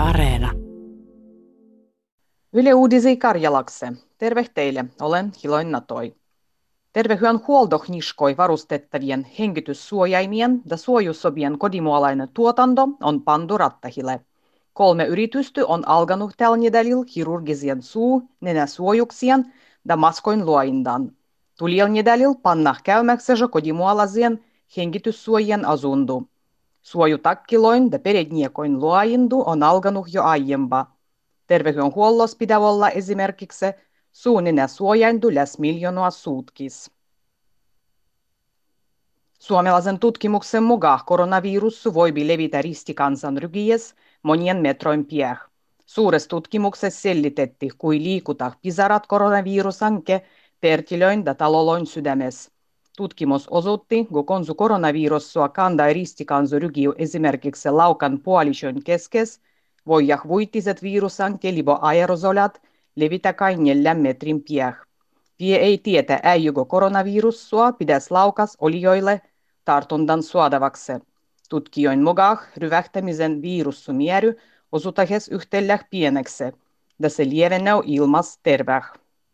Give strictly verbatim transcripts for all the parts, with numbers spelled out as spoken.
Areena. Yle Uudisi Karjalakse. Terve teille, olen Hiloin Natoi. Terveydenhuoltohniskoi varustettavien hengityssuojaimien ja suojusobien kodimuolainen tuotanto on pantu rattahille. Kolme yritystä on alkanut tällä nedälillä kirurgisien suu, nenäsuojuksien ja maskoin luoindan. Tulijalla nedälillä panna käymäksensä kodimuolaisien hengityssuojien asundu. Suojutakkiloin ja peredniekoin luoindu on alkanut jo aiempaa. Terveydenhuollossa pitää olla esimerkiksi suunninen suojaintu läs miljoonaa suutkis. Suomalaisen tutkimuksen mukaan koronavirus voi levitä ristikansanrygies monien metroin pieh. Suuressa tutkimuksessa sellitettiin, kui liikuta pisarat koronavirusanke pertilöin ja taloloin sydämessä. Tutkimus osoitti, kun konsu koronavirusua kandai ristikansanrygiu esimerkiksi laukan puolison keskes, voijah vuitiset virusanke libo aerosolat levitä kai neljän metrin pieh. Vie ei tietä äijyko koronavirussua pidäs laukas olijoille tartuntan suodavaksi. Tutkijoin mukaan ryvähtämisen virussumieri osutahes yhtellä pieneksi, ja se lievenee ilmas terveh.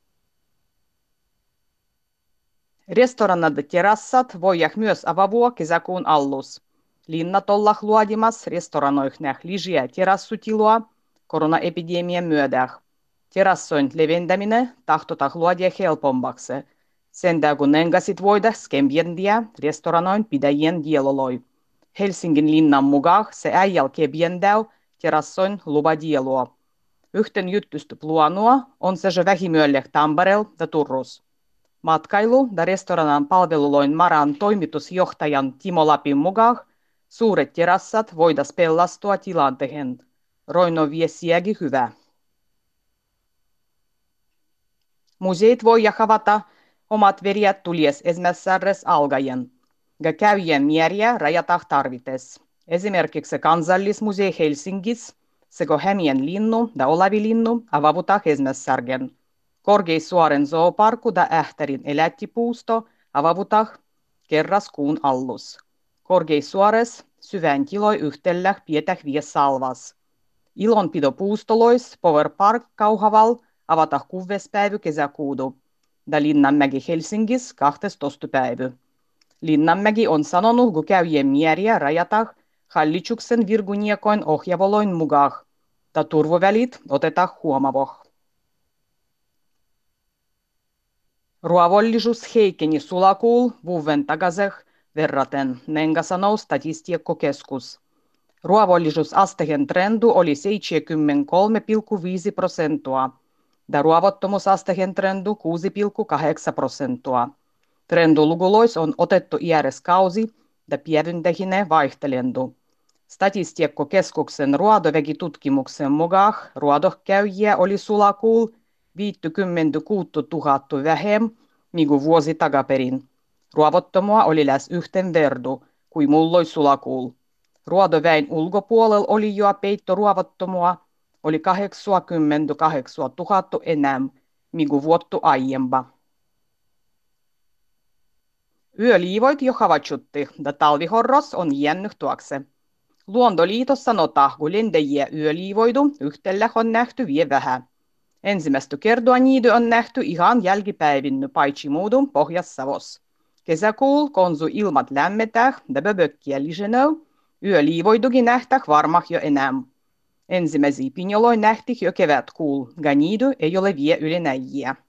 Restoranat ja terassat voijah myös avavua kesäkuun allus. Linnat ollah luodimas restoranoihnäh lijiä terassutilua koronaepidemian myödäh. Terassoin leventäminen tahtotah luodia helpommaksi. Sen kun nengasit voida skembiendiä restoranoin pidäjien dieloloi. Helsingin linnan mukaan se äijäl kebiendäu terassoin luvadielua. Yhten juttustu pluanua on se jo vähimyölleh Tamperel ja Turus. Matkailu- ja restoranan palveluloin Maran toimitusjohtajan Timo Lapin mukaan suuret terassat voidas pellastua tilantehen. Roino viesiägi hyvä. Museet voi havata omat verjät tulies ensimmäisessä algajen, ja käyjien määriä rajatah tarvites. Esimerkiksi Kansallismusei Helsingissä sekä Hämien linnu ja Olavilinnu avavutah ensimmäisessä. Korkeisuoren zooparku ja Ähtärin elättipuusto avavutah kerras kuun allus. Korkeisuores syvän kiloi yhtellä pietäh vies salvas. Ilonpidopuustolois Power Park Kauhaval avatah kuudes päivä kesäkuudu, ja Linnanmäki Helsingissä kahtestoista päivä. Linnanmäki on sanonut, kun käyjien määriä rajatah hallituksen virguniekoin ohjavoloin mukaan, ja turvavälit otetah huomavoh. Ruovollisuus heikeni sulakuul vuoden takaisin verraten, nenga sanoo Statistiikkakeskus. Ruovollisuusasteen trendu oli seitsemänkymmentäkolme pilkku viisi prosenttia, ja ruovottomuusasteen trendu kuusi pilkku kahdeksan prosenttia. Trendulugulois on otettu iäriskausi ja pievyntähine vaihtelendu. Statistiikkakeskuksen ruodoväkitutkimuksen mukaan ruodohkäyjiä oli sulakuul viisikymmentäkuusi tuhatta vähem, niinku vuosi takaperin. Ruovottomua oli läs yhten verdu, kuin mulloi sulakuul. Ruodoväin ulkopuolella oli jo peitto ruovottomua, oli kahdeksankymmentäkahdeksan tuhatta enää, niinku vuottu aiempa. Yöliivoit jo havaitsutti, ja talvihorros on jännyt tuokse. Luontoliitos sanotaan, kun lentäjiä yöliivoidu yhtellä on nähty vie vähän. Ensimmäistä kertaa niitä on nähty ihan jälkipäivinny paitsi muudun Pohjas-Savos. Kesäkuul konsu ilmat lämmetäh ja böbökkiä lisenöv, yöliivoidukin nähtäh varmah jo enää. Ensimmäisiä pinjoloi nähtih jo kevätkuul, ja niitä ei ole vie yli näjiä.